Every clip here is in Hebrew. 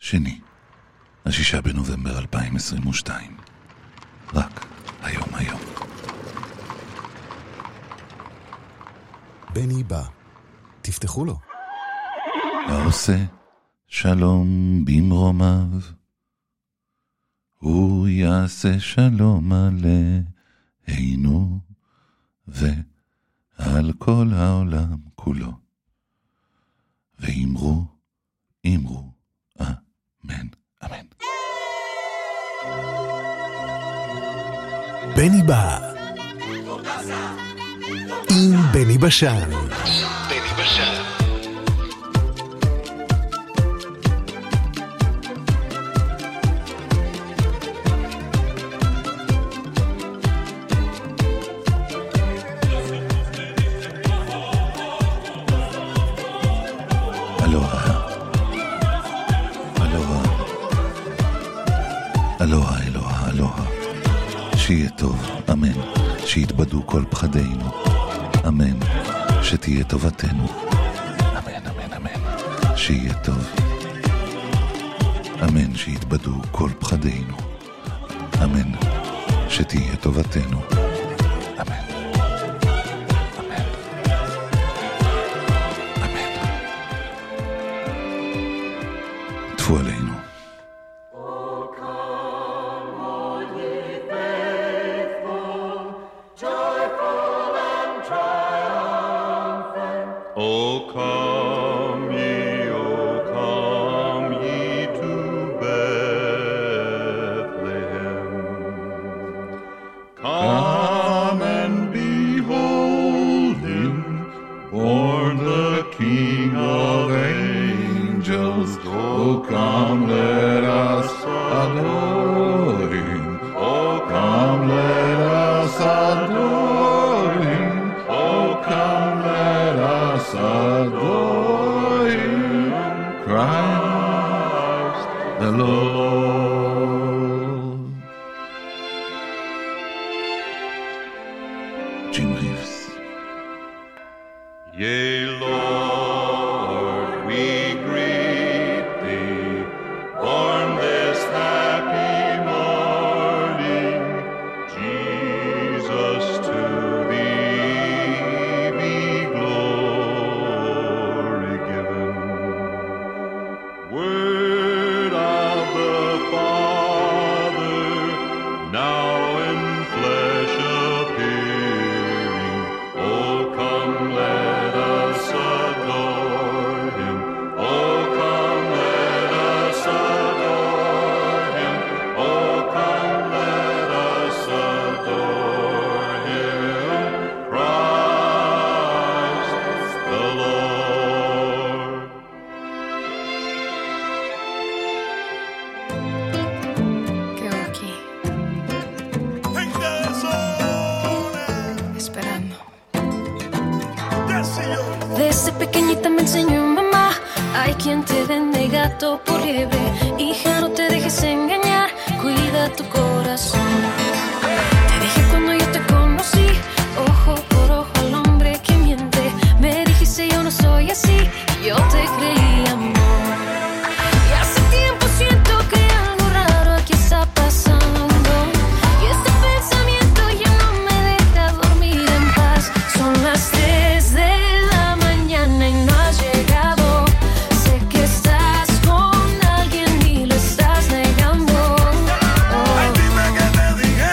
שני, 6 בנובמבר 2022. רק היום. בני בא. תפתחו לו. העושה שלום במרומיו, הוא יעשה שלום עלינו ועל כל העולם כולו. ואמרו, אמן, אמן. בני בא. עם בני בשן. אלוהה, שיהיה טוב, אמן, שיתבדו כל פחדינו, אמן, שתהיה טובתנו, אמן, שיהיה טוב, אמן, שיתבדו כל פחדינו, אמן, שתהיה טובתנו, אמן. טפו עלינו. Desde pequeñita me enseñó mamá, hay quien te vende gato por liebre. Hija, no te dejes engañar, cuida tu corazón. Te dije cuando yo te conocí, ojo por ojo al hombre que miente. Me dijiste yo no soy así, yo te creí, amor. Y hace tiempo siento que algo raro aquí está pasando, y este pensamiento ya no me deja dormir en paz. Son las 3 de la mañana y no has llegado. Sé que estás con alguien y lo estás negando. Ay, dime que te dije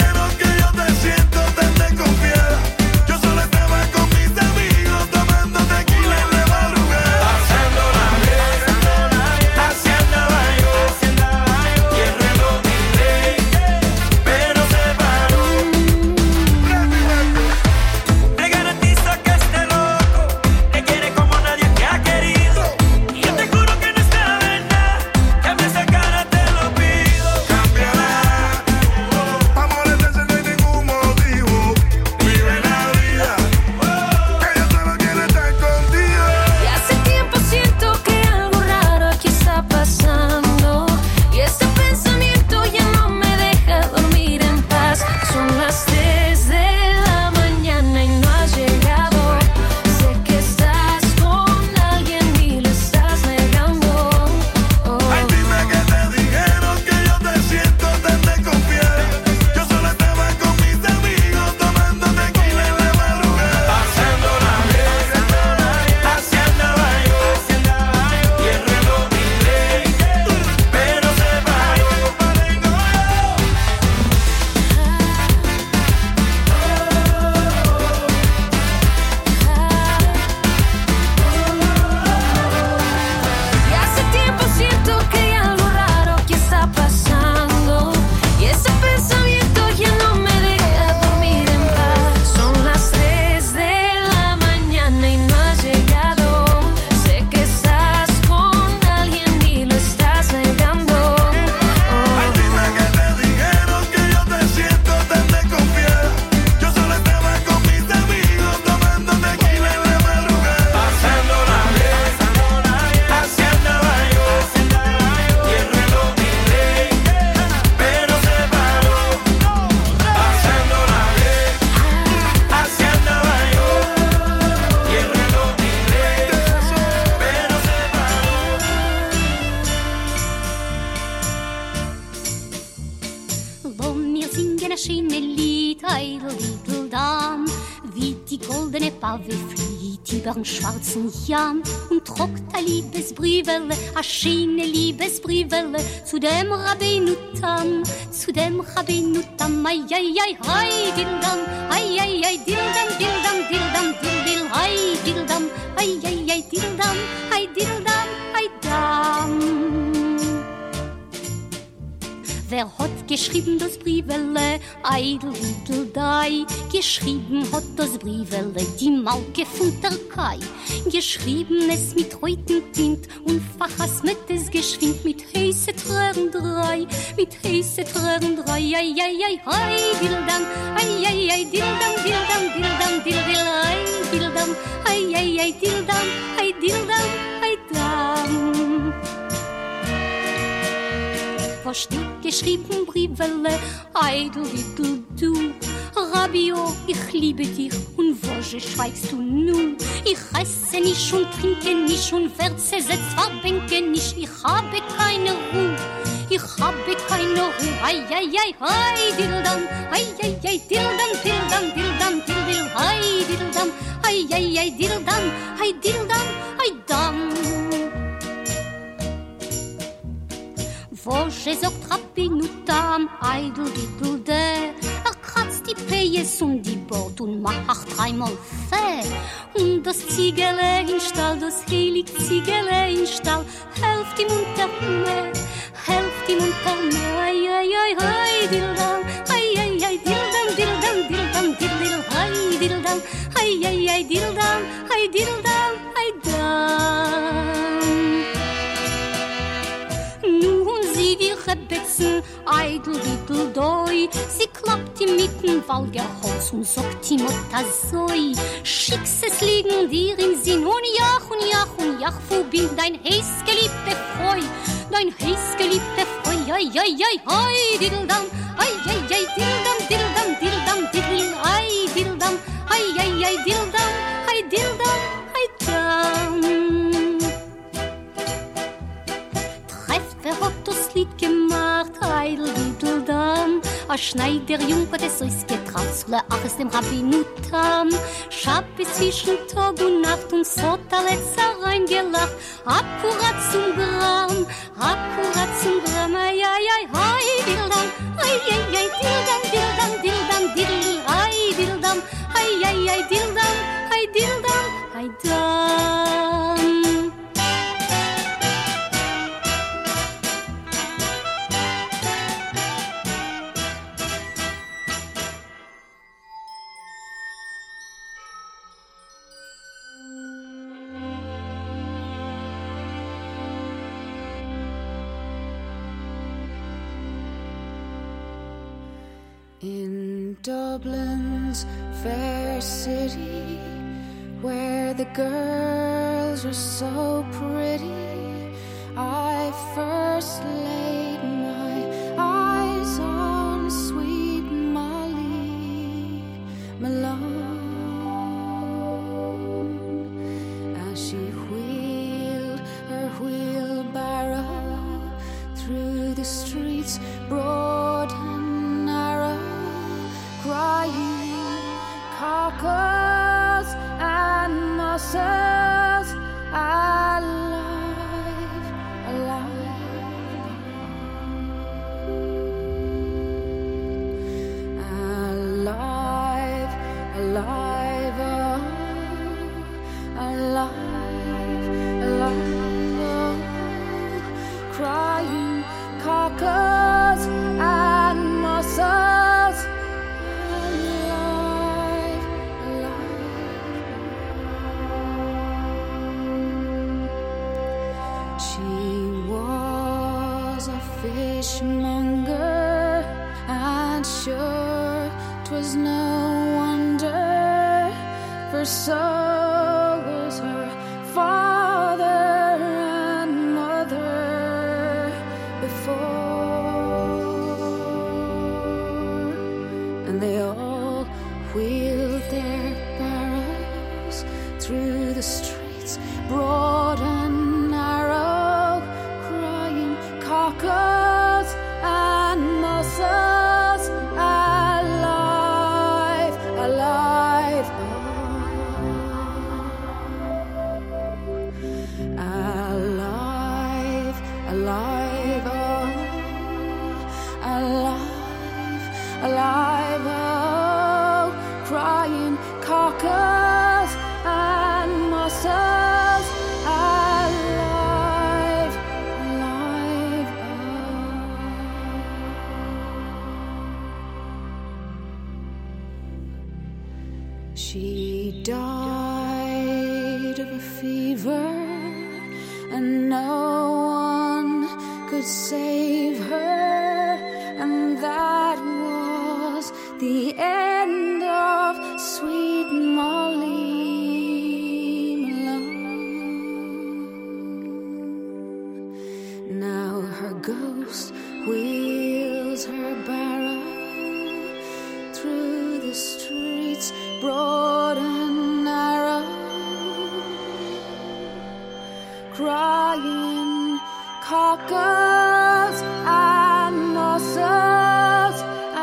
schöne Lied, Eideldam, wie die goldene Pave flieht übern schwarzen Jan und trockt a Liebesbriefele, a schöne Liebesbriefele zu dem Rabbeinu Tam, ai, ai, ai, ai, dildam, ai, ai, ai, dildam, dildam, dildam, dildil, ai, dildam, ai, ai, ai, dildam, ai, dildam, ai, dam. Wer hat geschrieben das Briefele, Eideldai? Geschrieben hat das Briefele die Mauke von der Kai. Geschrieben es mit reutem Tint und verhasmet es geschwind mit heiße Tränen drei, ai, ai, ai, ai, dildam, ai, ai, ai, dildam, dildam, dildam, dildil, ai, dildam, ai, ai, ai, dildam, ai, dildam, ai, dam. Was steht geschrieben, Briefele, Eidel, du, Rabio, ich liebe dich, und wo schweigst du nun? Ich esse nicht und trinke nicht und werde zwar bänke nicht, ich habe keine Ruhe, ai, ai, ai, ai, dildam, ai, ai, ai, dildam, dildam, dildam, dildil, ai, dildam, ai, ai, ai, dildam, ai, dildam, ai, dam. Wo sagt Rabbeinu Tam, Eideldai, kratzt die Pejes und die Bord und macht dreimal Fäh. Und das Ziegele in Stall, das heilig Ziegele in Stall, helft ihm unter mir, ai, ai, ai, ai, dildam, ai, ai, ai, dildam, dildam, dildam, dildil, ai, dildam, ai, ai, ai, dildam, ai, dildam, ai, dam. Die Rebetzen, Eideldai, sie klappt ihm mitten Walgerholz und sagt ihm Otazoi. Schicks es liegen dir im Sinn und jach, wo bin dein heißgeliebte Freu, ai, ai, ai, ai, dildam, ai, ai, ai, dildam, dildam, dildam, dildil, ai, dildam, ai, ai, ai, dildam, ai, dildam, ai, dam. Wer hat das Lied gemacht, Eideldam? A Schneiderjung hat es euch getraut, zu leachs dem Rabbeinu Tam. Schab es zwischen Tag und Nacht und so hat alles reingelacht. Akkurat zum Gram, ai, ai, ai, ai, dildam, ai, ai, ai, dildam, dildam, dildam, dildil, ai, dildam, ai, ai, ai, dildam, ai, dildam, ai, dam. In Dublin's fair city, where the girls are so pretty, I first laid my eyes on sweet Molly Malone, as she wheeled her wheelbarrow through the streets broad and narrow, crying cockles and mussels, alive, alive, alive, alive, oh, alive, alive, oh, crying cockles and mussels, alive, alive. She was a fishmonger, and sure 'twas no wonder, for so was her father and mother before, and they all wheeled their barrows through the streets broad and narrow, crying cockles and mussels, alive. She died of a fever, and no one could save her, and that was the end of sweet Molly Malone. Now her ghost wheels her barrow through the streets broad and narrow, crying cockles and mussels.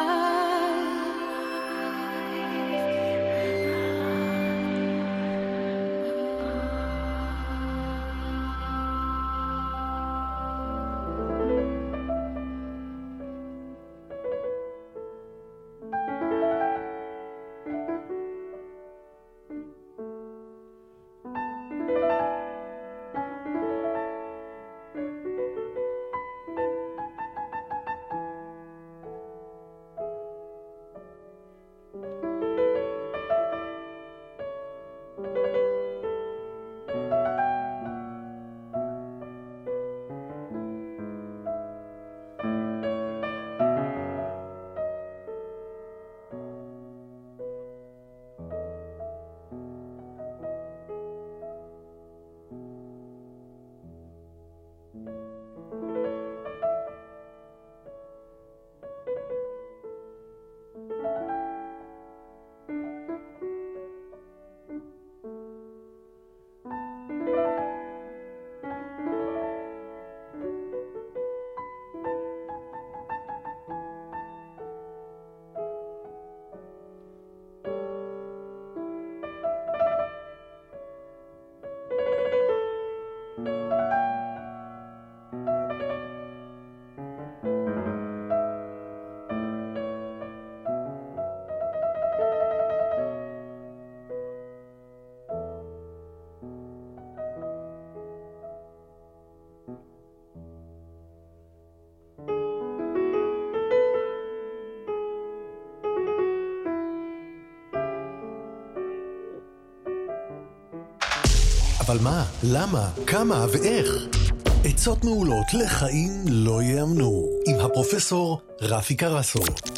אבל מה? למה? כמה ואיך? עצות מעולות לחיים לא יאמנו, עם הפרופסור רפי קרסו.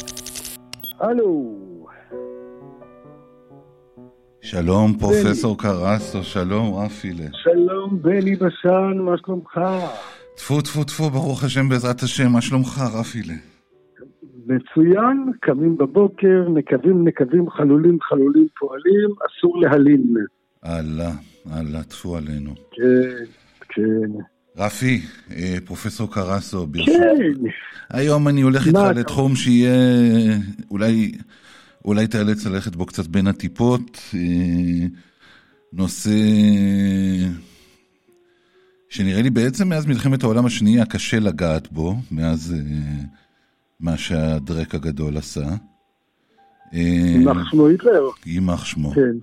הלו. שלום פרופסור קרסו, שלום רפילה. שלום בני בשן, מה שלומך? טפו טפו טפו, ברוך השם בעזרת השם, מה שלומך רפילה? מצוין, קמים בבוקר, נקבים, חלולים פועלים, אסור להלין. אללה, טפו עלינו. כן. רפי, פרופסור קרסו, כן. היום אני הולך איתך לתחום שיהיה, אולי תאלץ ללכת בו קצת בין הטיפות, נושא שנראה לי בעצם מאז מלחמת העולם השנייה קשה לגעת בו, מאז מה שהדרק הגדול עשה. יימח שמו היטלר. יימח שמו. כן.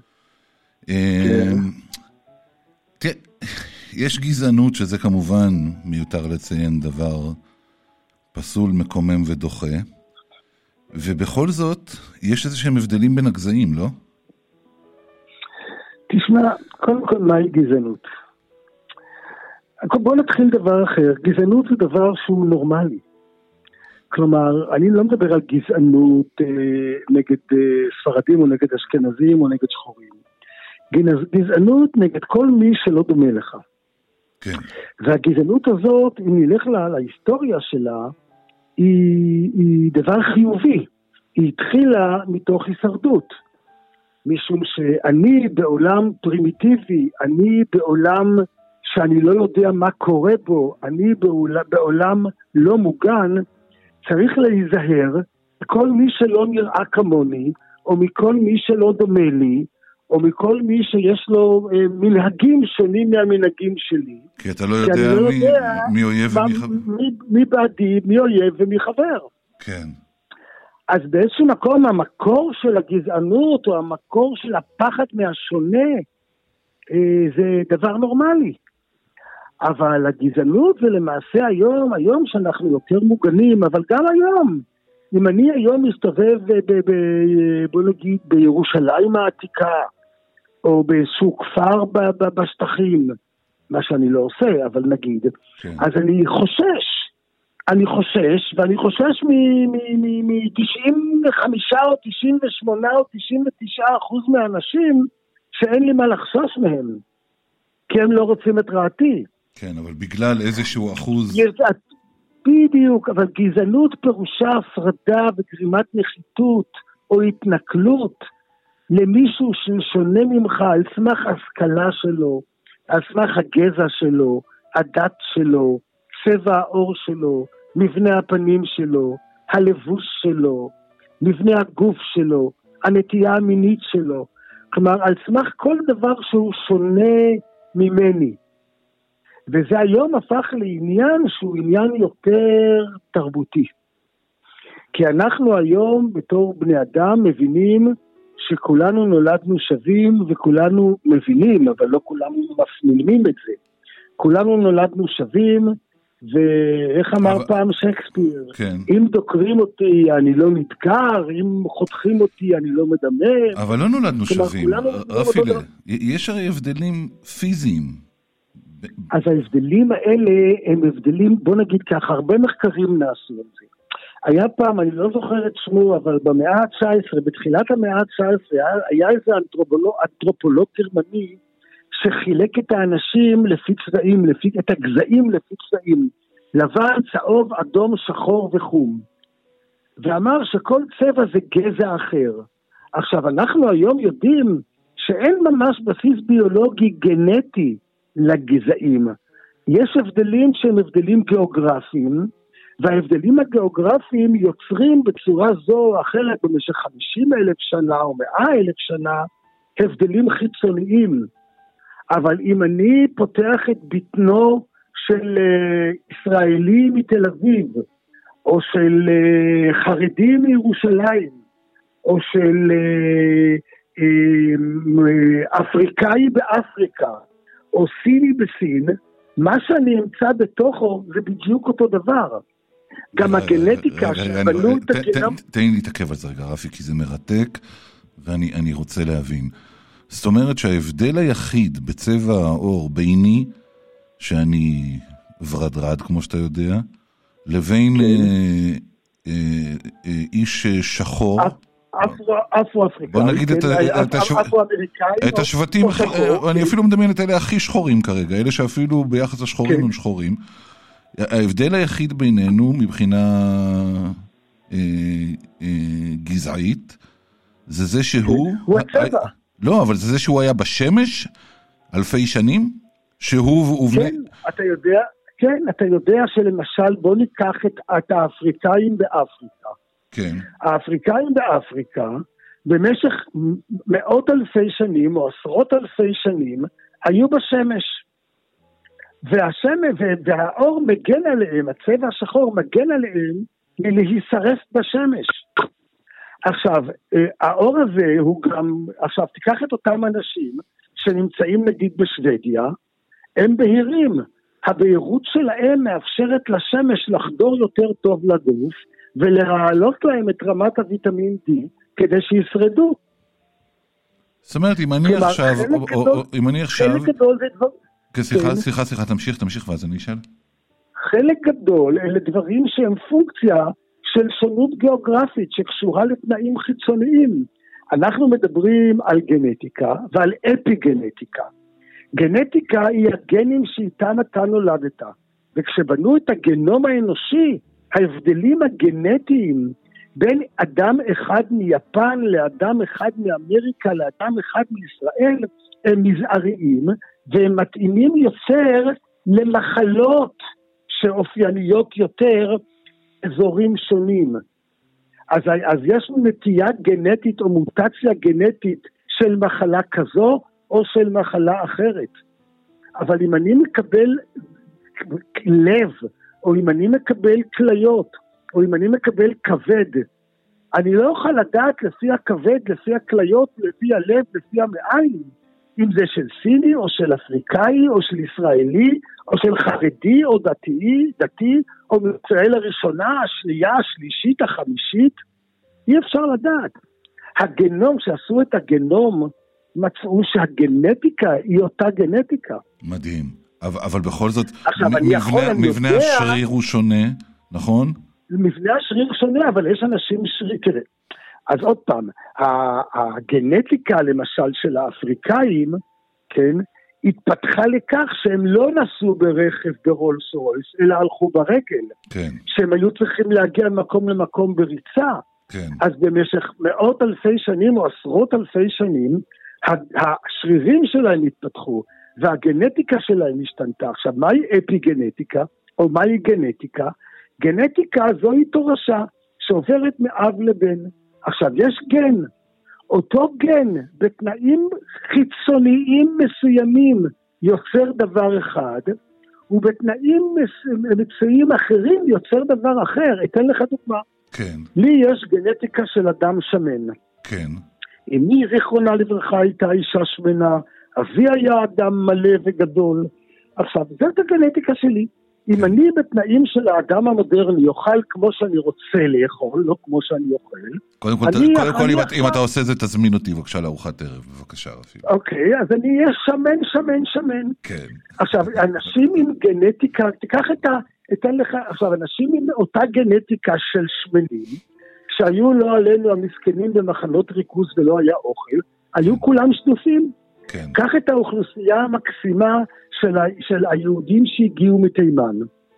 תראה, יש גזענות שזה כמובן מיותר לציין דבר פסול, מקומם ודוחה, ובכל זאת יש איזה שהם הבדלים בין הגזעים, לא? תשמע, קודם כל מהי גזענות? בוא נתחיל דבר אחר. גזענות זה דבר שהוא נורמלי. כלומר, אני לא מדבר על גזענות נגד ספרדים או נגד אשכנזים או נגד שחורים. גזענות נגד כל מי שלא דומה לך. כן. והגזענות הזאת, אם נלך להיסטוריה שלה, היא דבר חיובי. היא התחילה מתוך הישרדות. משום שאני בעולם פרימיטיבי, אני בעולם שאני לא יודע מה קורה בו, אני בעולם לא מוגן, צריך להיזהר מכל מי שלא נראה כמוני, או מכל מי שלא דומה לי, או מכל מי שיש לו מנהגים שונים מהמנהגים שלי. כי אתה לא יודע מי אויב ומי חבר. מי בעדי, מי אויב ומי חבר. כן. אז באיזשהו מקום המקור של הגזענות, או המקור של הפחד מהשונה, זה דבר נורמלי. אבל הגזענות זה למעשה היום שאנחנו יותר מוגנים, אבל גם היום אם אני היום מסתובב בוא נגיד בירושלים העתיקה, או באיזשהו כפר בשטחים, מה שאני לא עושה, אבל נגיד, כן. אז אני חושש, ואני חושש מ-95 או 98 או 99% מהאנשים, שאין לי מה לחשוש מהם, כי הם לא רוצים את רעתי. כן, אבל בגלל איזשהו אחוז... בדיוק, אבל גזענות פירושה הפרדה וגרימת נחיתות או התנכלות למישהו ששונה ממך על סמך השכלה שלו, על סמך הגזע שלו, הדת שלו, צבע העור שלו, מבנה הפנים שלו, הלבוש שלו, מבנה הגוף שלו, הנטייה המינית שלו. כלומר, על סמך כל דבר שהוא שונה ממני. וזה היום הפך לעניין שהוא עניין יותר תרבותי. כי אנחנו היום בתור בני אדם מבינים שכולנו נולדנו שווים וכולנו מבינים, אבל לא כולנו מפנימים את זה. כולנו נולדנו שווים, ואיך אמר פעם שייקספיר, כן. אם דוקרים אותי אני לא נדקר, אם חותכים אותי אני לא מדמם. אבל לא נולדנו שווים, רפי, יש הרי הבדלים פיזיים. אז ההבדלים האלה הם הבדלים, בוא נגיד ככה, הרבה מחקרים נעשו על זה. היה פעם, אני לא זוכר את שמו, אבל במאה ה-19, בתחילת המאה ה-19, היה איזה אנתרופולוג גרמני, שחילק את האנשים לפי צבעים, את הגזעים לפי צבעים, לבן, צהוב, אדום, שחור וחום. ואמר שכל צבע זה גזע אחר. עכשיו, אנחנו היום יודעים שאין ממש בסיס ביולוגי גנטי לגזעים. יש הבדלים שהם הבדלים גיאוגרפיים, וההבדלים הגיאוגרפיים יוצרים בצורה זו או אחרת במשך 50,000 שנה או 100,000 שנה הבדלים חיצוניים. אבל אם אני פותח את בטנו של ישראלי מתל אביב, או של חרדי מירושלים, או של אפריקאי באפריקה, או סיני בסין, מה שאני אמצא בתוכו זה בדיוק אותו דבר. גם הגנטיקה שבנו את הגנום... תן לי להתעכב על זה רגע, רפי, כי זה מרתק, ואני רוצה להבין. זאת אומרת שההבדל היחיד בצבע האור ביני, שאני ורדרד, כמו שאתה יודע, לבין איש שחור... אפרו-אפריקאי. בוא נגיד את השבטים, אני אפילו מדמיין את אלה הכי שחורים כרגע, אלה שאפילו ביחס לשחורים הם שחורים. ההבדל היחיד בינינו מבחינה גזעית, זה שהוא... הוא הצבע. לא, אבל זה שהוא היה בשמש אלפי שנים, שהוא... כן, אתה יודע שלמשל, בוא ניקח את האפריקאים באפריקה. כן. האפריקאים באפריקה, במשך מאות אלפי שנים, או עשרות אלפי שנים, היו בשמש. והאור מגן עליהם, הצבע השחור מגן עליהם, מלהישרף בשמש. עכשיו, האור הזה הוא גם, עכשיו תיקח את אותם אנשים, שנמצאים נגיד בשוודיה, הם בהירים. הבהירות שלהם מאפשרת לשמש לחדור יותר טוב לגוף, ולהעלות להם את רמת הוויטמין D, כדי שישרדו. זאת אומרת, אם אני עכשיו... חלק גדול זה דבר... סליחה, תמשיך ואז אני אשאל. חלק גדול אלה דברים שהם פונקציה של שונות גיאוגרפית, שקשורה לתנאים חיצוניים. אנחנו מדברים על גנטיקה ועל אפיגנטיקה. גנטיקה היא הגנים שאיתם אתה נולדת, וכשבנו את הגנום האנושי, ההבדלים הגנטיים בין אדם אחד מיפן לאדם אחד מאמריקה לאדם אחד מישראל הם מזעריים, והם מתאימים יותר למחלות שאופייניות יותר אזורים שונים. אז יש נטייה גנטית או מוטציה גנטית של מחלה כזו או של מחלה אחרת. אבל אם אני מקבל לב, או אם אני מקבל כליות, או אם אני מקבל כבד, אני לא אוכל לדעת לפי הכבד, לפי הכליות, לפי הלב, לפי המעיים, אם זה של סיני, או של אפריקאי, או של ישראלי, או של חרדי, או דתי, או מישראל הראשונה, השנייה, השלישית, החמישית, אי אפשר לדעת. הגנום, שעשו את הגנום, מצאו שהגנטיקה היא אותה גנטיקה. מדהים. אבל בכל זאת, מבנה השריר הוא שונה, נכון? מבנה השריר שונה, אבל יש אנשים שריר, תראה. אז עוד פעם, הגנטיקה למשל של האפריקאים, כן, התפתחה לכך שהם לא נסעו ברכב ברולס רויס, אלא הלכו ברגל. כן. שהם היו צריכים להגיע ממקום למקום בריצה. כן. אז במשך מאות אלפי שנים או עשרות אלפי שנים, השרירים שלהם התפתחו, והגנטיקה שלהם השתנתה. עכשיו, מהי אפיגנטיקה, או מהי גנטיקה? גנטיקה זוהי תורשה, שעוברת מאב לבן. עכשיו, יש גן, אותו גן, בתנאים חיצוניים מסוימים, יוצר דבר אחד, ובתנאים מצויים אחרים יוצר דבר אחר. אתן לך דוגמה. כן. לי יש גנטיקה של אדם שמן. כן. אמי זיכרונה לברכה הייתה אישה שמנה, אבי היה אדם מלא וגדול. עכשיו, זאת הגנטיקה שלי. אם אני בתנאים של האדם המודרני אוכל כמו שאני רוצה לאכול, לא כמו שאני אוכל. קודם כל, אם אתה עושה זה, תזמין אותי בבקשה לארוחת ערב, בבקשה רפי. אוקיי, אז אני אהיה שמן. כן. עכשיו, אנשים עם גנטיקה, תיקח אתן לך, עכשיו, אנשים עם אותה גנטיקה של שמנים, שהיו לא עלינו המסכנים במחנות ריכוז ולא היה אוכל, היו כולם שדופים. כן. קח את האוכלוסייה המקסימה של היהודים שהגיעו מתימן,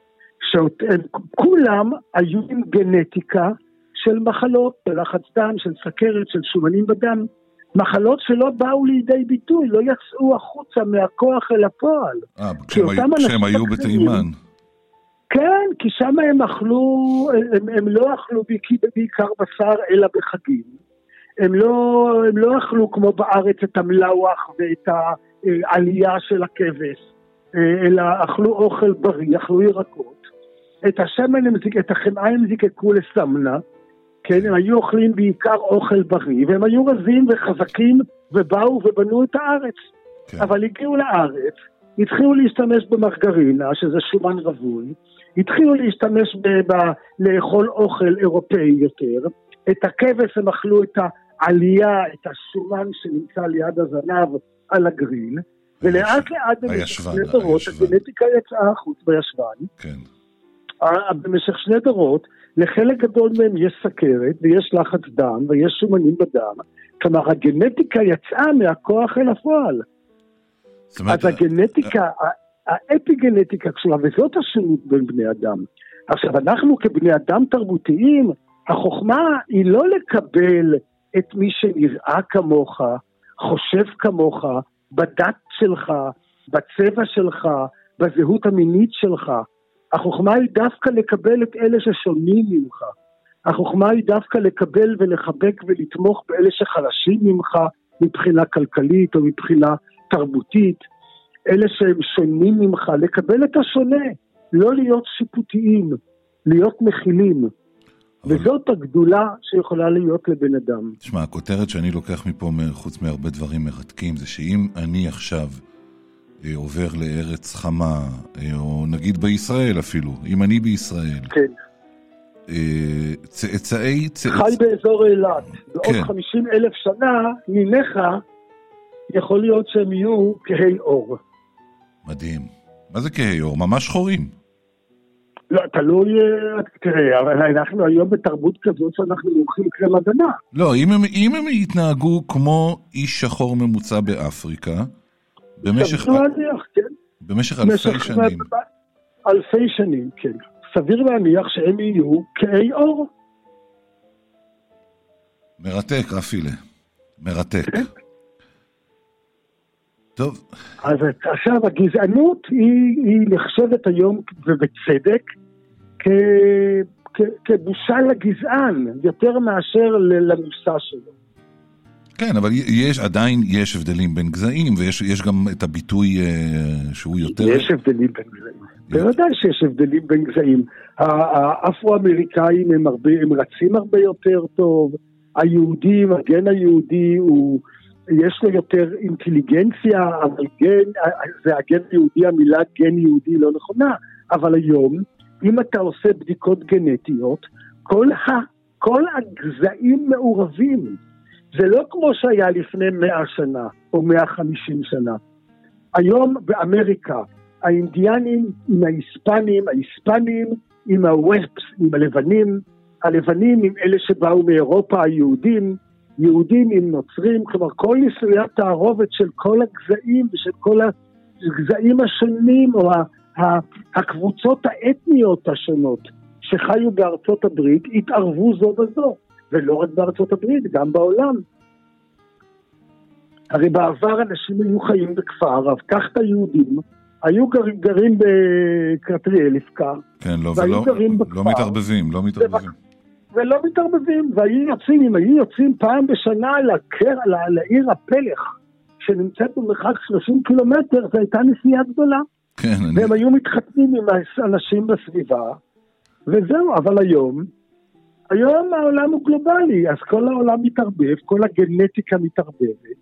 כולם היו עם גנטיקה של מחלות, של לחץ דם, של סכרת, של שומנים בדם, מחלות שלא באו לידי ביטוי, לא יצאו החוצה מהכוח אל הפועל. כשהם היו בתימן. כן, כי שם הם אכלו, הם לא אכלו בעיקר בשר אלא בחגים. הם לא אכלו כמו בארץ את המלאוח ואת העלייה של הכבש, אלא אכלו אוכל בריא, אכלו ירקות. את השמן, את החמאה הם זיקקו לסמנה, כן, הם היו אוכלים בעיקר אוכל בריא, והם היו רזים וחזקים ובאו ובנו את הארץ. כן. אבל הגיעו לארץ, התחילו להשתמש במרגרינה, שזה שומן רבוי, התחילו להשתמש לאכול אוכל אירופאי יותר, את הכבש הם אכלו את העלייה, את השומן שנמצא ליד הזנב על הגריל, ולאט לאט במשך שני דורות, הגנטיקה יצאה החוץ בישבן, כן. במשך שני דורות, לחלק גדול מהם יש סכרת, ויש לחץ דם, ויש שומנים בדם, כלומר הגנטיקה יצאה מהכוח אל הפועל. אז הגנטיקה, האפיגנטיקה קשורה, וזאת השונות בין בני אדם. עכשיו, אנחנו כבני אדם תרבותיים, החוכמה היא לא לקבל את מי שנראה כמוך, חושב כמוך, בדת שלך, בצבע שלך, בזהות המינית שלך. החוכמה היא דווקא לקבל את אלה ששונים ממך. החוכמה היא דווקא לקבל ולחבק ולתמוך באלה שחלשים ממך, מבחינה כלכלית או מבחינה תרבותית. אלה שהם שונים ממך, לקבל את השונה, לא להיות שיפוטיים, להיות מכילים. וזאת הגדולה שיכולה להיות לבן אדם. תשמע, הכותרת שאני לוקח מפה, חוץ מהרבה דברים מרתקים, זה שאם אני עכשיו עובר לארץ חמה, או נגיד בישראל אפילו, אם אני בישראל, כן. חי באזור אילת, בעוד 50,000 שנה, ניניך, יכול להיות שהם יהיו כהי אור. מדהים. מה זה כהי אור? ממש שחורים. לא, תלוי, תראה, אבל אנחנו היום בתרבות כזאת שאנחנו מומחים קרם הגנה. לא, אם הם יתנהגו כמו איש שחור ממוצע באפריקה, במשך אלפי שנים. אלפי שנים, כן. סביר להניח שהם יהיו כהי אור. מרתק, רפילה. מרתק. טוב. אז עכשיו, הגזענות היא נחשבת היום, ובצדק, כבושה לגזען, יותר מאשר למושא שלו. כן, אבל עדיין יש הבדלים בין גזעים, ויש גם את הביטוי שהוא יותר... יש הבדלים בין גזעים. בוודאי שיש הבדלים בין גזעים. האפרו-אמריקאים הם רצים הרבה יותר טוב, היהודים, הגן היהודי יש לו יותר אינטליגנציה, אבל גן, זה הגן יהודי, המילה גן יהודי לא נכונה, אבל היום, אם אתה עושה בדיקות גנטיות, כל הגזעים מעורבים. זה לא כמו שהיה לפני 100 שנה, או 150 שנה. היום באמריקה, האינדיאנים עם ההיספנים עם הווספס, עם הלבנים עם אלה שבאו מאירופה, יהודים עם נוצרים, כלומר כל ניסויי התערובת של כל הגזעים ושל כל הגזעים השונים, או הקבוצות האתניות השונות שחיו בארצות הברית, התערבו זו בזו, ולא רק בארצות הברית, גם בעולם. הרי בעבר אנשים היו חיים בכפר, אבל כך את היהודים, היו גרים בקרטריאל לפקר, כן, לא מתערבבים, ולא מתערבבים, אם היו יוצאים פעם בשנה לעיר הפלך, שנמצאת במרחק 30 קילומטר, זו הייתה נסיעה גדולה. כן, והם היו מתחתנים עם האנשים בסביבה, וזהו, אבל היום העולם הוא גלובלי, אז כל העולם מתערבב, כל הגנטיקה מתערבבת,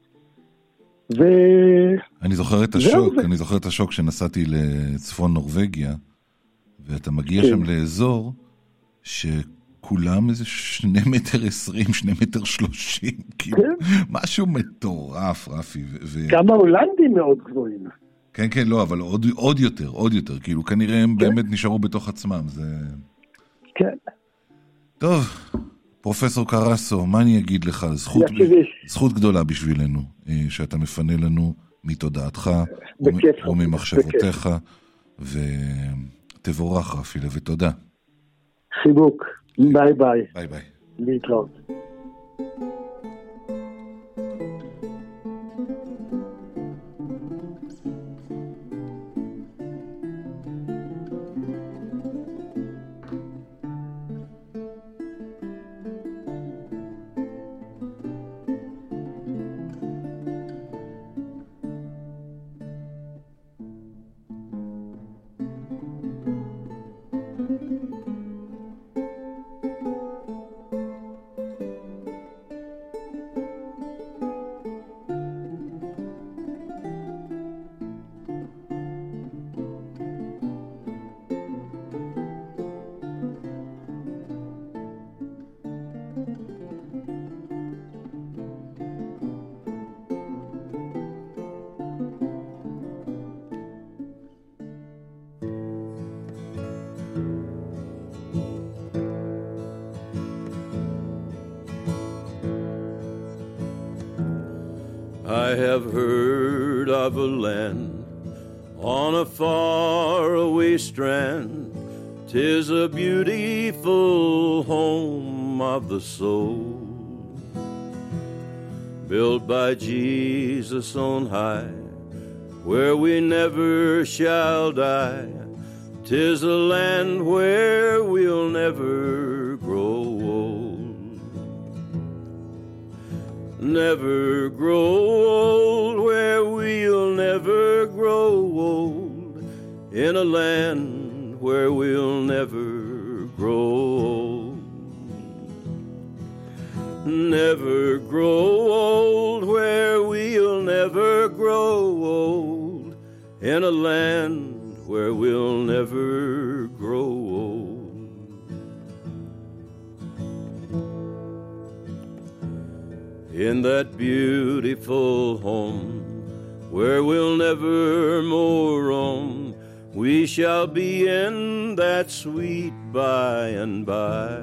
אני זוכר את השוק שנסעתי לצפון נורווגיה, ואתה מגיע שם לאזור שכולם איזה 2.20 מטר, 2.30 מטר, כאילו, משהו מטורף, רפי. גם ההולנדים מאוד גבוהים. כן, כן, לא, אבל עוד יותר, כאילו, כנראה הם באמת נשארו בתוך עצמם, זה... כן. טוב, פרופסור קרסו, מה אני אגיד לך? זכות גדולה בשבילנו, שאתה מפנה לנו מתודעתך וממחשבותיך, ותבורך רפילה, ותודה. חיבוק, ביי ביי. ביי ביי. להתראות. I have heard of a land on a faraway strand. 'Tis a beautiful home of the soul, built by Jesus on high, where we never shall die. 'Tis a land where we'll never grow old, never grow old, where we'll never grow old, in a land where we'll never grow old, never grow old, where we'll never grow old, in a land where we'll never grow old. In that beautiful home where we'll never more roam, we shall be in that sweet by and by.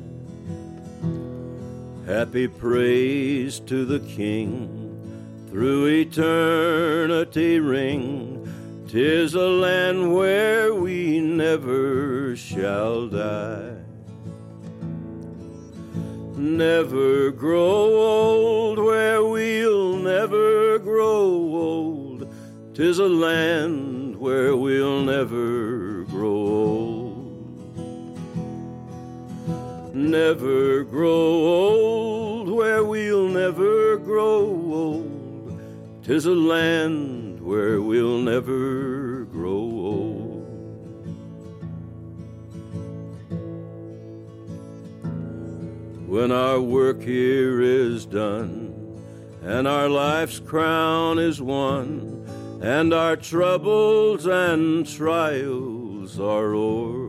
Happy praise to the King through eternity ring. 'Tis a land where we never shall die. Never grow old, where we'll never grow old. 'Tis a land where we'll never grow old. Never grow old, where we'll never grow old. 'Tis a land where we'll never grow old. When our work here is done and our life's crown is won, and our troubles and trials are o'er.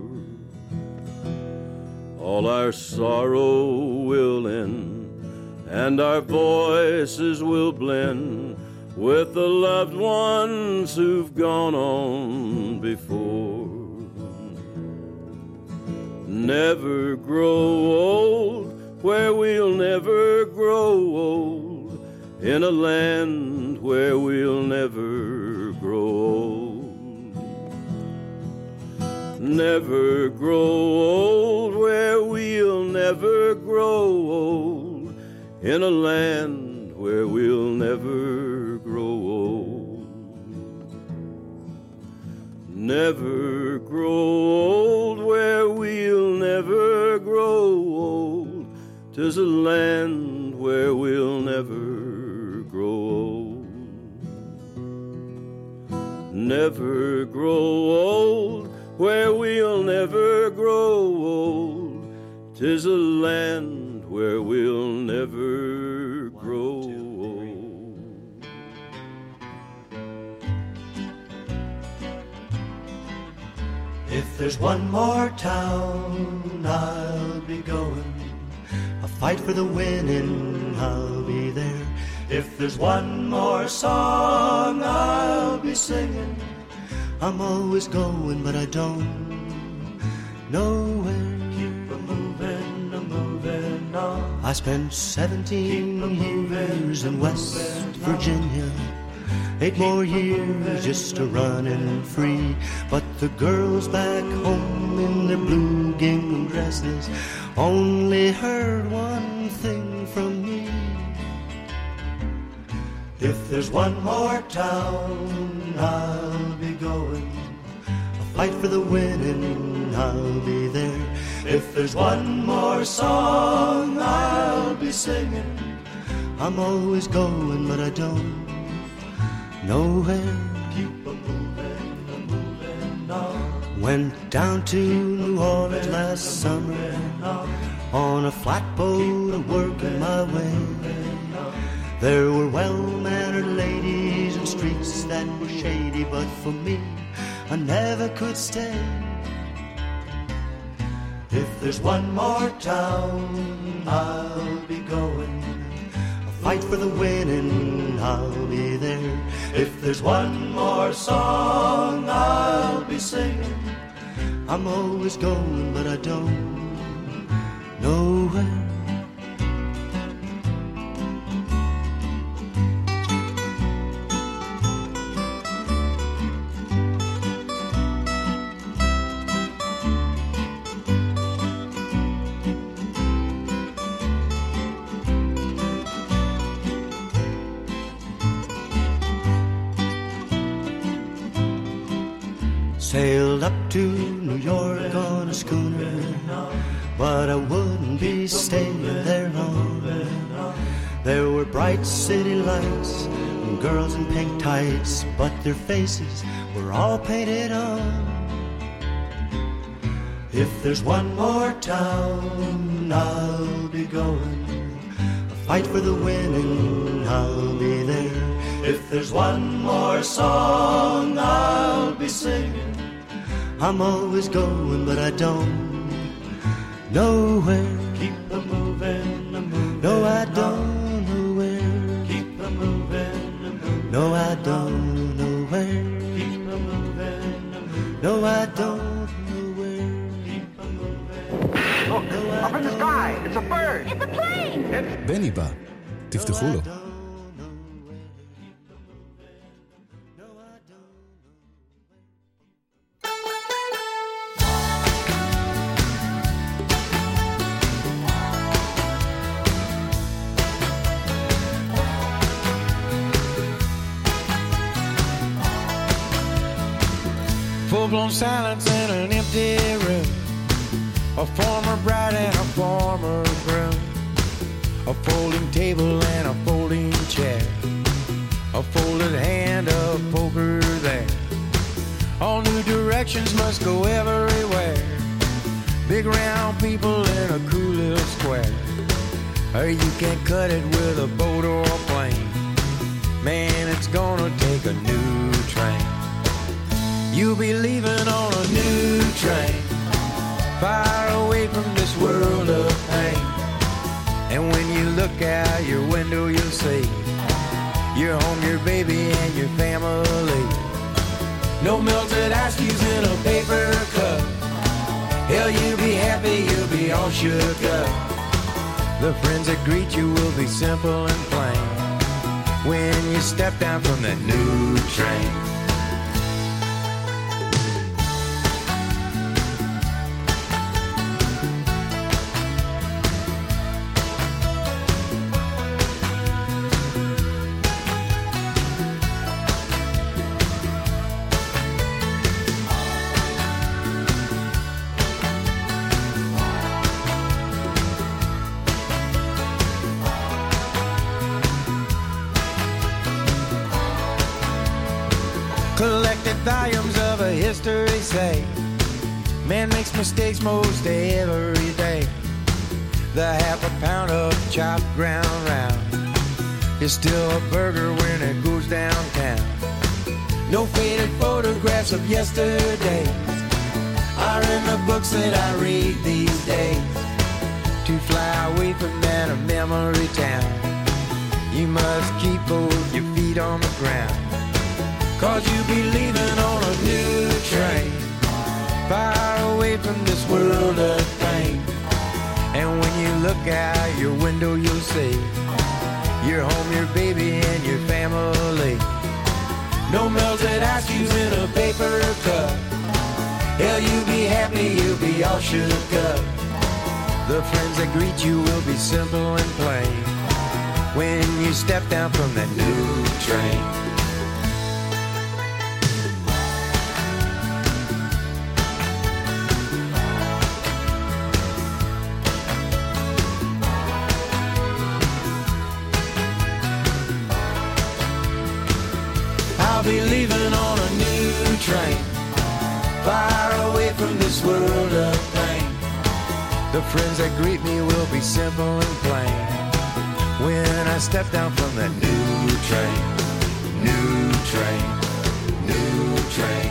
All our sorrow will end, and our voices will blend with the loved ones who've gone on before. Never grow old, where we'll never grow old, in a land where we'll never grow old. Never grow old, where we'll never grow old, in a land where we'll never grow old. Never grow old, where we'll never grow old, 'tis a land where we'll never grow old. Never grow old, where we'll never grow old, 'tis a land where we'll never grow old. If there's one more town, I'll be going. A fight for the winning, I'll be there. If there's one more song, I'll be singing. I'm always going, but I don't know where. Keep a-moving on. I spent 17 years in West Virginia. 8 more years just to running free. But the girls back home in their blue gingham dresses only heard one thing from me. If there's one more town, I'll be going. A fight for the winning, I'll be there. If there's one more song, I'll be singing. I'm always going, but I don't nowhere. Keep a-moving on. Went down to New Orleans last summer on a flatboat working my way. There were well-mannered ladies and streets that were shady, but for me, I never could stay. If there's one more town, I'll be going. Fight for the winning, I'll be there. If there's one more song, I'll be singing. I'm always going, but I don't know where. Sailed up to New York on a schooner, but I wouldn't be staying there long. There were bright city lights and girls in pink tights, but their faces were all painted on. If there's one more town, I'll be going. A fight for the winning, I'll be there. If there's one more song, I'll be singing. I'm always going, but I don't know where. Keep a-moving, no, I don't know where. Keep a-moving, no, I don't know where. Keep a-moving, no, I don't know where. Keep a-moving. Look, up in the sky, it's a bird. It's a plane. בני בא, תפתחו לו. Full-blown silence in an empty room. A former bride and a former groom. A folding table and a folding chair. A folded hand of poker there. All new directions must go everywhere. Big round people in a cool little square. or you can cut it with a boat or a plane. Man, it's gonna take a new train. You'll be leaving on a new train, far away from this world of pain. And when you look out your window, you'll see your home, your baby, and your family. No melted ice cubes in a paper cup. Hell, you'll be happy, you'll be all shook up. The friends that greet you will be simple and plain when you step down from that new train. Collected volumes of a history say man makes mistakes most every day. The half a pound of chopped ground round is still a burger when it goes downtown. No faded photographs of yesterdays are in the books that I read these days. To fly away from that memory town, you must keep both your feet on the ground. 'Cause you'll be leaving on a new train, far away from this world of pain. And when you look out your window, you'll see your home, your baby, and your family. No melted ice cubes in a paper cup. Hell, you'll be happy, you'll be all shook up. The friends that greet you will be simple and plain when you step down from that new train. I'll be leaving on a new train, far away from this world of pain. The friends that greet me will be simple and plain when I step down from that new train, new train, new train.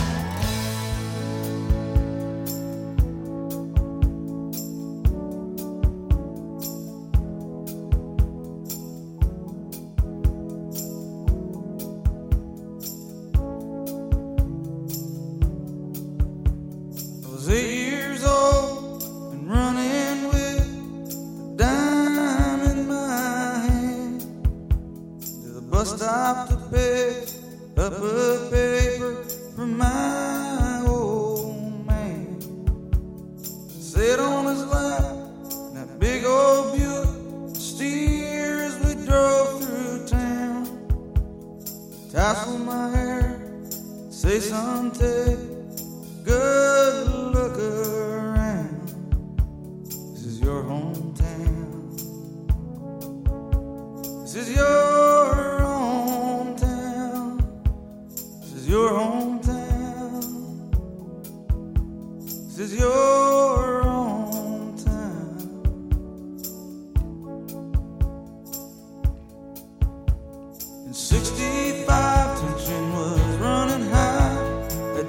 Stop to pick up a paper from my old man. Sit on his lap in that big old Buick, steer as we drove through town. Tassel my hair, say son, take good look around. This is your hometown. This is your your hometown. This is your hometown. In 65, tension was running high at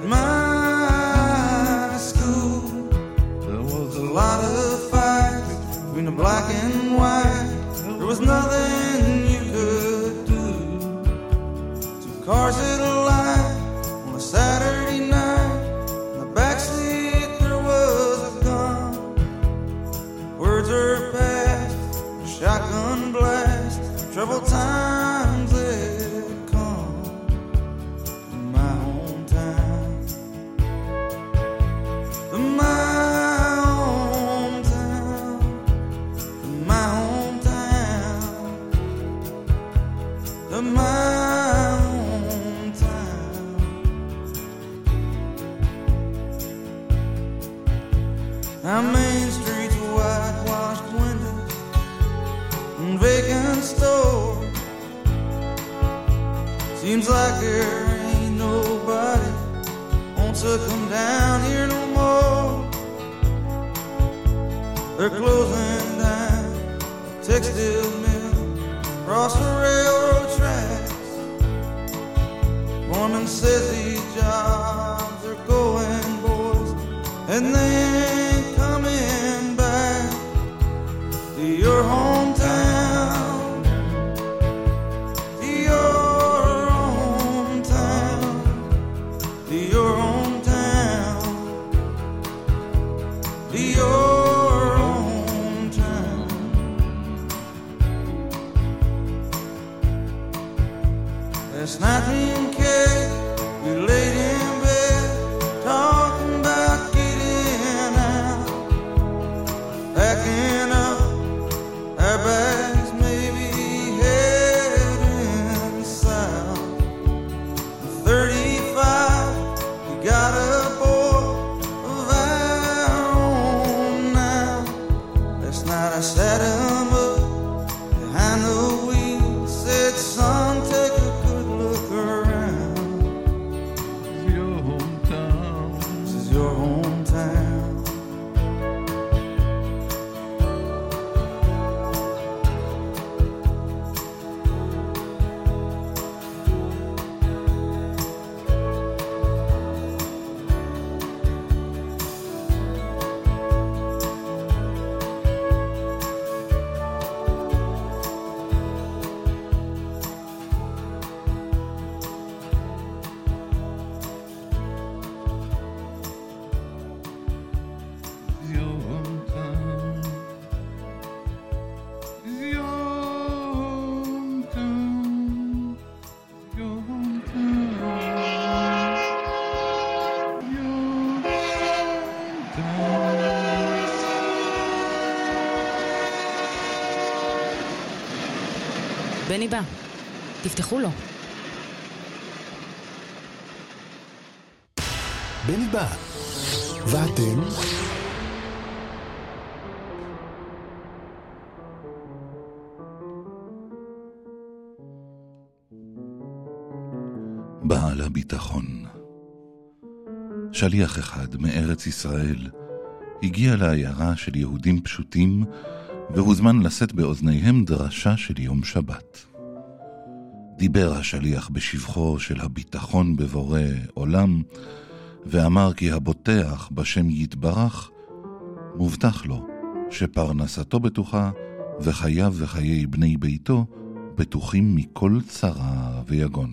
my school. There was a lot of fights between the black and white. There was nothing you could do. Two cars that aligned on a Saturday night. In the backseat there was a gun. Words are past, shotgun blast. Troubled times had come in my hometown. In my hometown. In my hometown. In my our main streets, whitewashed windows and vacant stores. Seems like there ain't nobody wants to come down here no more. They're closing down textile mill, across the railroad tracks. Foreman says these jobs are going, boys, and they ain't coming back to your hometown, to your hometown, to your hometown, to your last night me and Kay, we laid in bed, talking about getting out, packing up our bags, maybe heading south. 35, we got a boy of our own now. Last night I sat him up behind the wheel, said, son, take a בני בא, תפתחו לו. בני בא, ואתם? בעל הביטחון. שליח אחד מארץ ישראל הגיע לעיירה של יהודים פשוטים והוזמן לשאת באוזניהם דרשה של יום שבת. דיבר השליח בשבחו של הביטחון בבורא עולם, ואמר כי הבוטח בשם יתברך, מובטח לו שפרנסתו בטוחה וחייו וחיי בני ביתו בטוחים מכל צרה ויגון.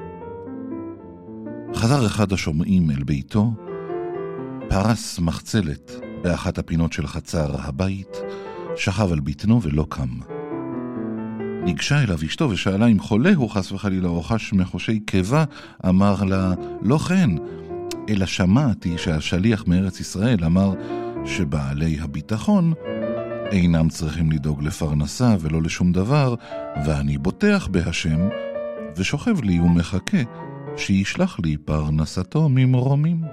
חזר אחד השומעים אל ביתו, פרס מחצלת באחת הפינות של חצר הבית, שכב על בטנו ולא קם. ניגשה אליו אשתו ושאלה אם חולה הוא חס וחלילה או חש מחושי קיבה. אמר לה, לא כן, אלא שמעתי שהשליח מארץ ישראל אמר שבעלי הביטחון אינם צריכים לדאוג לפרנסה ולא לשום דבר, ואני בוטח בהשם ושוכב לי ומחכה שישלח לי פרנסתו ממרומים.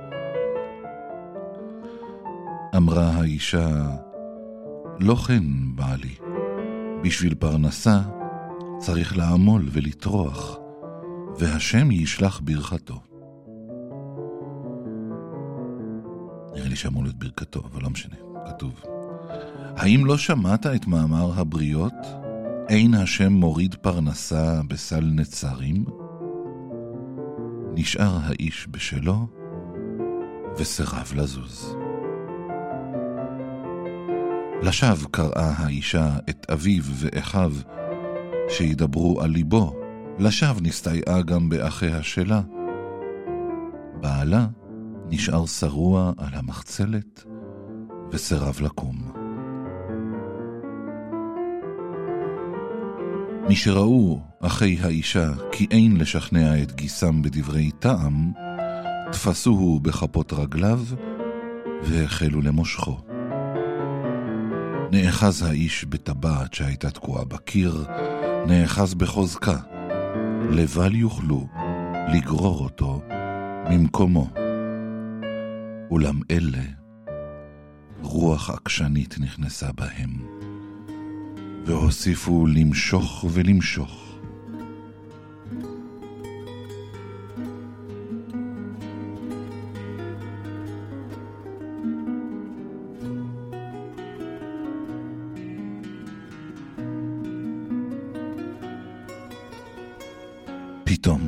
אמרה האישה, לא כן בעלי, בשביל פרנסה צריך לעמול ולטרוח, והשם ישלח ברכתו. נראה לי שאמור להיות ברכתו, אבל לא משנה, כתוב. האם לא שמעת את מאמר הבריות? אין השם מוריד פרנסה בסל נצרים? נשאר האיש בשלו וסרב לזוז. לשווא קראה האישה את אביו ואחיו שידברו על ליבו. לשווא נסתייעה גם באחיה שלה. בעלה נשאר שרוע על המחצלת וסרב לקום. משראו אחי האישה כי אין לשכנע את גיסם בדברי טעם, תפסוהו בכפות רגליו והחלו למושכו. נאחז האיש בטבעת שהייתה תקועה בקיר, נאחז בחוזקה, לבל יוכלו לגרור אותו ממקומו. אולם אלה, רוח עקשנית נכנסה בהם, והוסיפו למשוך ולמשוך. פתאום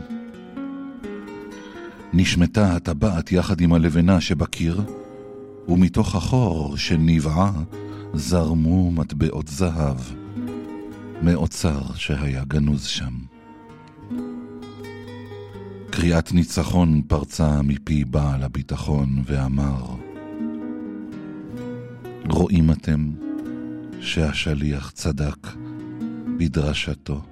נשמטה הטבעת יחד עם הלבנה שבקיר, ומתוך החור שנבעה זרמו מטבעות זהב מאוצר שהיה גנוז שם. קריאת ניצחון פרצה מפי בעל הביטחון ואמר, רואים אתם שהשליח צדק בדרשתו.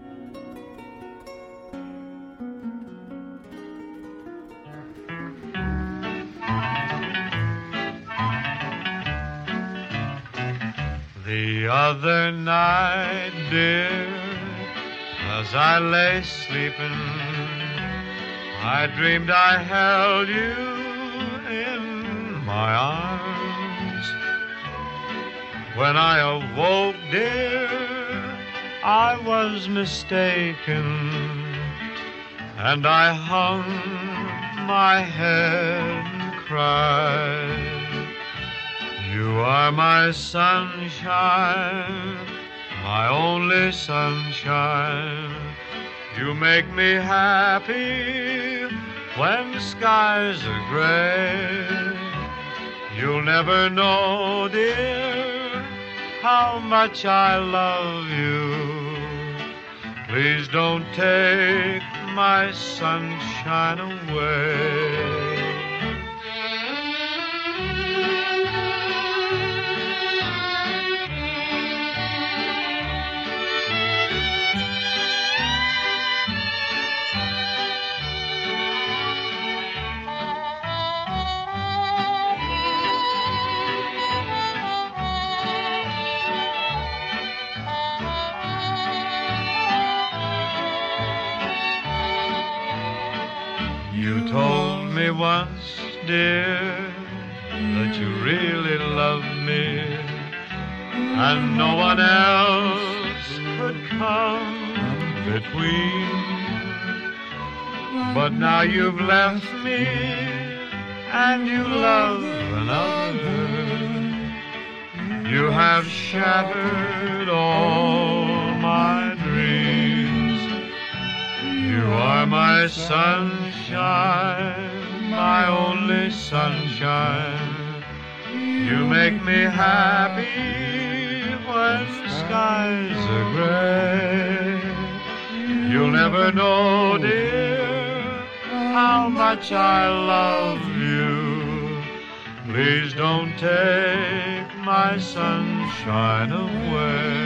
The other night, dear, as I lay sleeping, I dreamed I held you in my arms. When I awoke, dear, I was mistaken, and I hung my head and cried. You are my sunshine, my only sunshine. You make me happy when skies are gray. You'll never know, dear, how much I love you. Please don't take my sunshine away. You told me once, dear, that you really loved me, and no one else could come between. But now you've left me, and you love another. You have shattered all my dreams. You are my sunshine, my only sunshine. You make me happy when skies are gray. You'll never know, dear, how much I love you. Please don't take my sunshine away.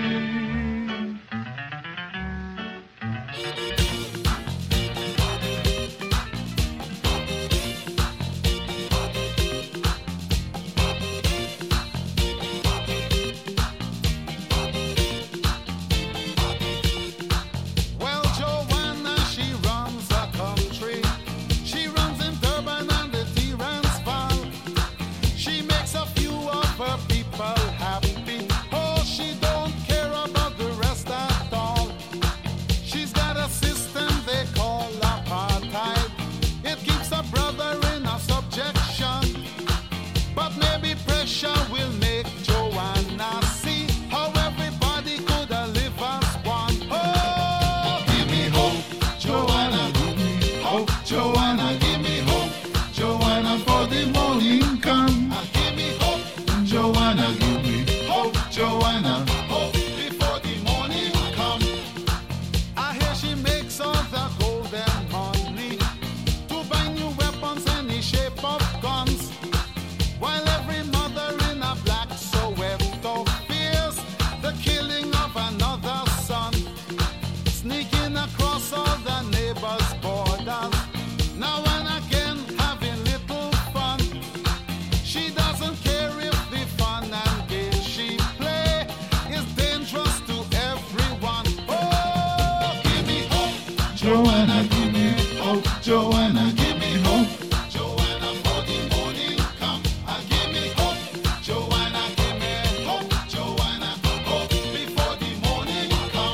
Joanna, give me hope. Joanna, give me hope. Joanna, for the morning come. Give me hope. Joanna, give me hope. Joanna, hope before the morning come.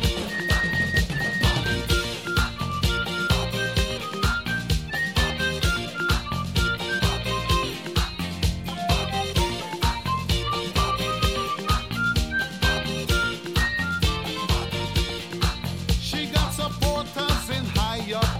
She got supporters in high up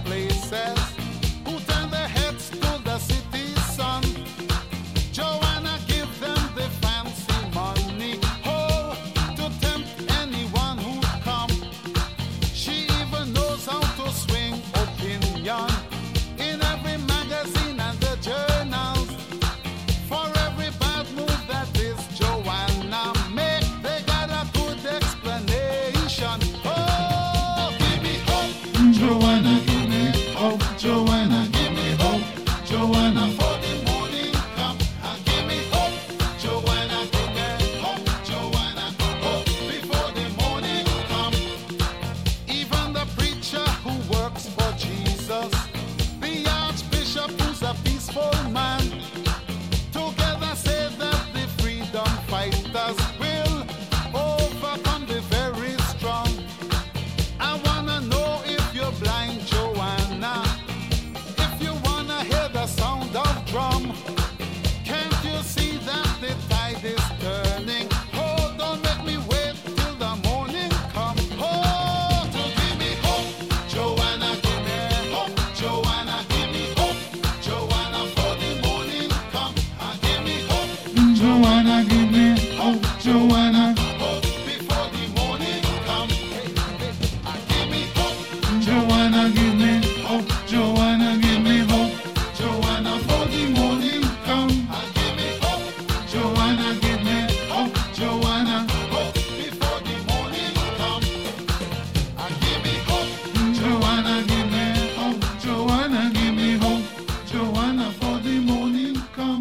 Joanna, hope before the morning come. Give me hope, Joanna, give me hope, Joanna, give me hope, Joanna, for the morning come. Give me hope, Joanna, give me hope, Joanna, hope before the morning come. Give me hope, Joanna, give me hope, Joanna, give me hope, Joanna, for the morning come.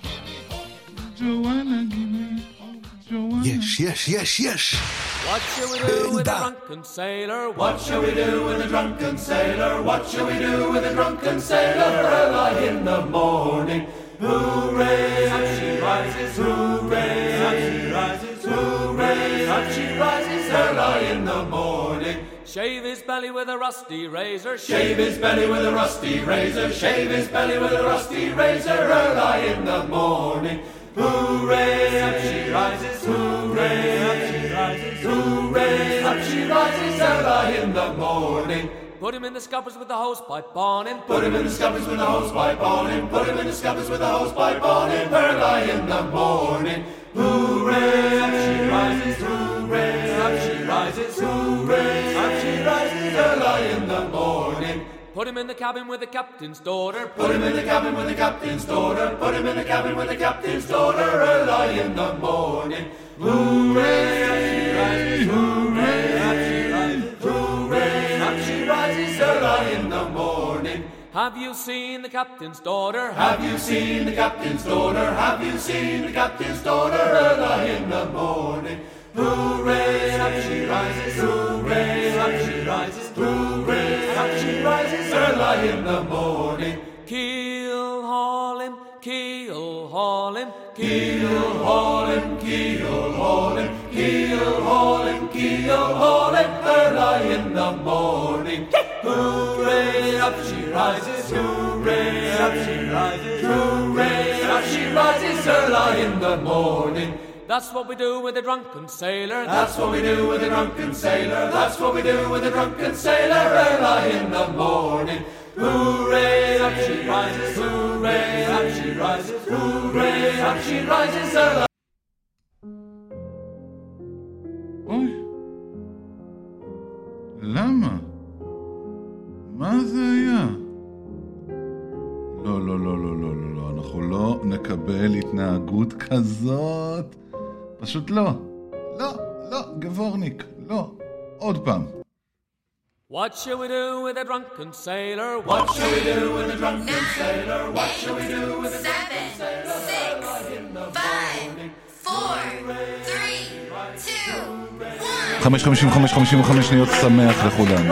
Joanna, give me hope, Joanna. יש. What shall we do with a drunken sailor? What shall we do with a drunken sailor? What shall we do with a drunken sailor? Early in the morning, hooray! Up she rises, hooray! Up she rises, hooray! Up she rises early in the morning. Shave his belly with a rusty razor. Shave his belly with a rusty razor. Shave his belly with a rusty razor. Early in the morning, hooray! Up she rises, hooray! Up she rises, hooray! Up she rises early in the morning. Put him in the scuppers with the hosepipe on him. Put him in the scuppers with the hosepipe on him. Put him in the scuppers with the hosepipe on him. Early in the morning, hooray! Up she rises, hooray! Up she rises, hooray! Up she rises early in the morning. Put him in the cabin with the captain's daughter. Put him in the cabin with the captain's daughter. Put him in the cabin with the captain's daughter. Early in the morning, hooray! Up she rises, hooray! Up she rises, hooray! Up she rises early in the morning. Have you seen the captain's daughter? Have you seen the captain's daughter? Have you seen the captain's daughter? Early in the morning, hooray! Up she rises, hooray! Up she rises, hooray! Up she rises early in the morning. Keel haul him, keel haul him, keel haul him, keel haul him, keel haul him, keel haul him early in the morning. Hooray! Up she rises, hooray! Up she rises, hooray! Up she rises early in the morning. That's what we do with a drunken sailor. That's what we do with a drunken sailor. That's what we do with a drunken sailor. Early in the morning, hooray! Up she rises, hooray! Up she rises, hooray! Up she rises early. אוי, למה? מה זה היה? לא, אנחנו לא נקבל התנהגות כזאת. פשוט לא, גבורניק, לא, עוד פעם. What shall we do with a drunken sailor? What shall we do with a drunken sailor? What shall we do with a drunken sailor? 7, 6, 5, 4, 3, 2, 1. 5:55 שניות שמח לכולם.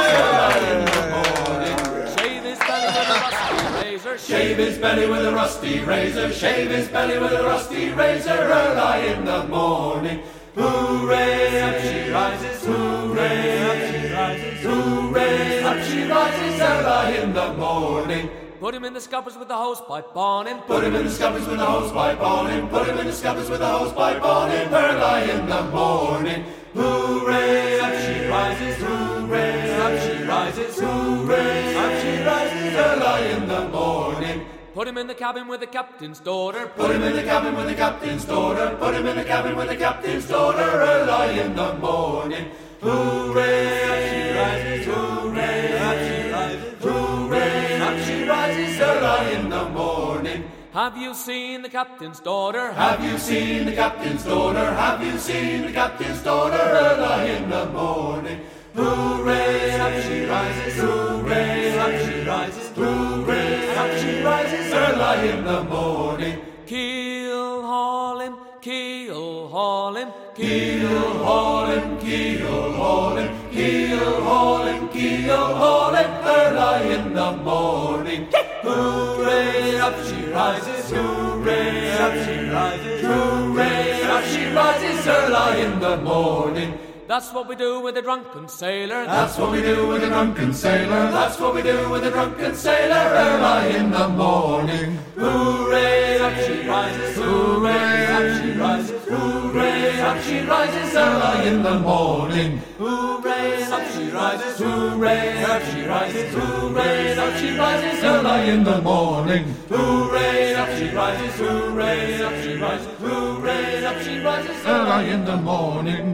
Shave his belly with a rusty razor. Shave his belly with a rusty razor. Early in the morning, hooray! Up she rises, hooray! Up she rises, hooray! Up she rises early in the morning. Put him in the scuppers with the hosepipe on him. Put him in the scuppers with the hosepipe on him. Put him in the scuppers with the hosepipe on him. Early in the morning, hooray! Up she rises, hooray! Up she rises, hooray! Up she rises early in the morning. Put him in the cabin with the captain's daughter. Put him in the cabin with the captain's daughter. Put him in the cabin with the captain's daughter. Early in the morning, hooray! Up she rises, hooray! Up she rises, hooray! Up she rises early in the morning. Have you seen the captain's daughter? Have you seen the captain's daughter? Have you seen the captain's daughter? Early in the morning, hooray! Up she rises, hooray! Up she rises, hooray! Up she rises early in the morning. Keel haul him, keel haul him, keel haul him, keel haul him, keel haul him, keel haul him early in the morning. Hooray! Up she rises, hooray! Up she rises, hooray! Up she rises early in the morning. That's what we do with a drunken sailor. That's what we do with a drunken sailor. That's what we do with a drunken sailor. Early in the morning, hooray! Up she rises, hooray! Up she rises, hooray! Up up she rises early in the morning. Hooray, up she rises, hooray, up she rises, hooray, up she rises early in the morning. Hooray, up she rises, hooray, up she rises, hooray, up she rises early in the morning.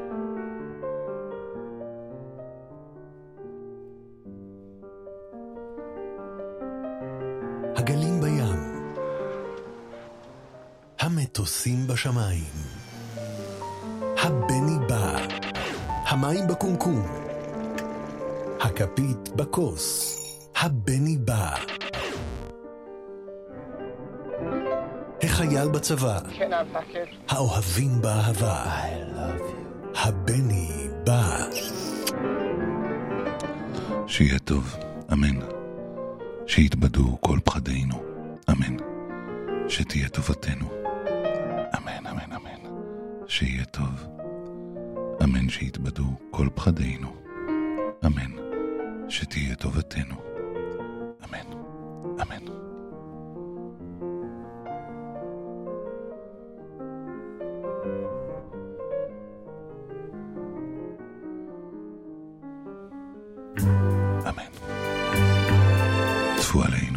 הגלים בים, המטוסים בשמיים, הבני בא, המים בקומקום, הכפית בכוס, הבני בא, החייל בצבא, האוהבים באהבה, הבני בא. שיהיה טוב, אמן. שיתבדו כל פחדינו, אמן. שתהיה טובתנו, אמן, אמן, אמן. שיהיה טוב, אמן. שיתבדו כל פחדינו, אמן. שתהיה טובתנו, אמן, אמן. אמן. צפו עלינו.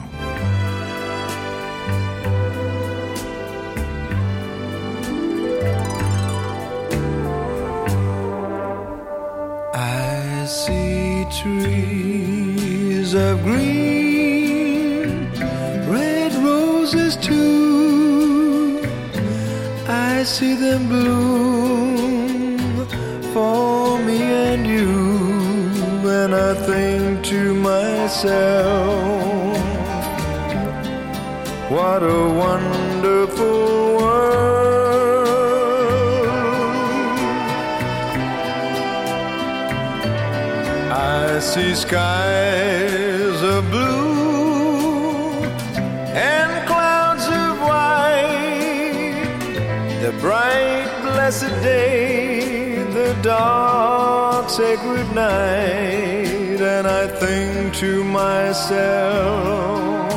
I see trees of green, red roses too. I see them bloom for me and you, and I think to myself, what a wonderful world. I see skies of blue and clouds of white, the bright blessed day, the dark sacred night, and I think to myself,